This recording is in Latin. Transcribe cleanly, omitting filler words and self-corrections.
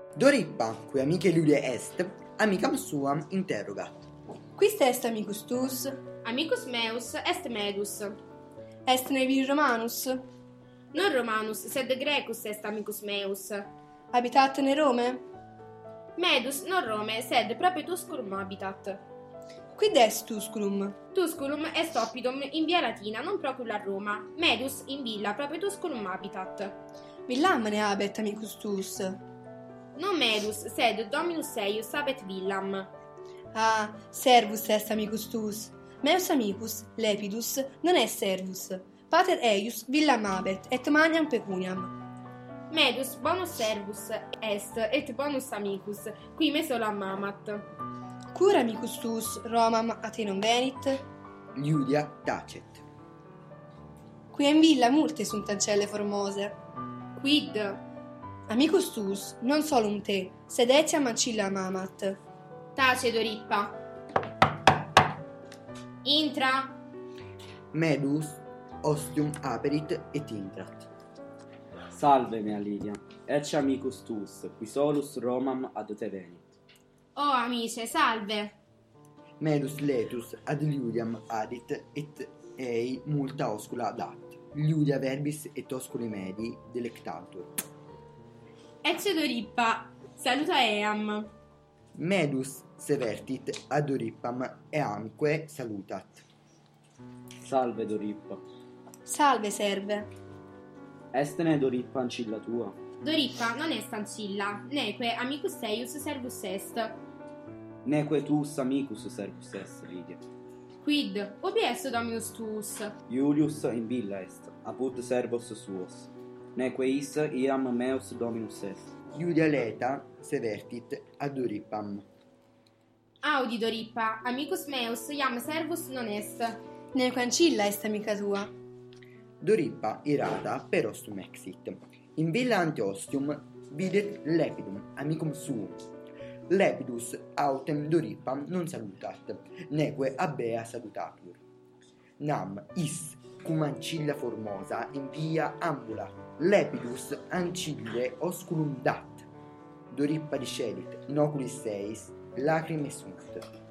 Dorippa, qui amiche Lulia est, amicam suam interrogat. Quis est amicus tuus? Amicus meus est Medus. Est nevi Romanus? Non Romanus, sed Grecus est amicus meus. Habitat ne Rome? Medus non Rome, sed proprio Tusculum habitat. Quid est Tusculum? Tusculum est oppidum in via Latina, non procul a Roma. Medus in villa proprio Tusculum habitat. Villam ne habet amicus tuus? Non Medus, sed Dominus eius habet villam. Ah, servus est amicus tuus. Meus amicus, Lepidus, non est servus. Pater eius villam habet, et magnam pecuniam. Medus bonus servus est, et bonus amicus, qui me solam amat. Cur amicus tuus Romam a te non venit? Iulia tacet. Qui in villa multe sunt ancelle formose. Quid? Amicus tuus, non solum te, sed etiam ancillam amat. Tace Dorippa. Intra. Medus ostium aperit et intrat. Salve, mea Lidia, ecce amicus tuus, qui solus Romam ad te venit. Oh amice, salve. Medus letus ad Iuliam adit et ei multa oscula dat. Iulia verbis et osculi medi delectatur. Ecce Dorippa, saluta eam. Medus severtit ad Dorippam eamque salutat. Salve, Dorippa. Salve, serve. Estene Dorippa ancilla tua? Dorippa non est ancilla, neque amicus eius servus est. Neque tuus amicus servus est, Lidia. Quid? Ubi est Dominus tuus? Iulius in villa est, apud servos suos. Neque is iam meus Dominus est. Iulia leta severtit ad Dorippam. Audi Dorippa, amicus meus iam servus non est. Neque ancilla est amica tua. Dorippa irata per ostum exit. In villa ante ostium videt Lepidum, amicum suum. Lepidus autem Dorippam non salutat, neque abea salutatur. Nam is cum ancilla formosa in via ambula. Lepidus ancille osculum dat. Dorippa discedit, inoculis seis, lacrimae sunt.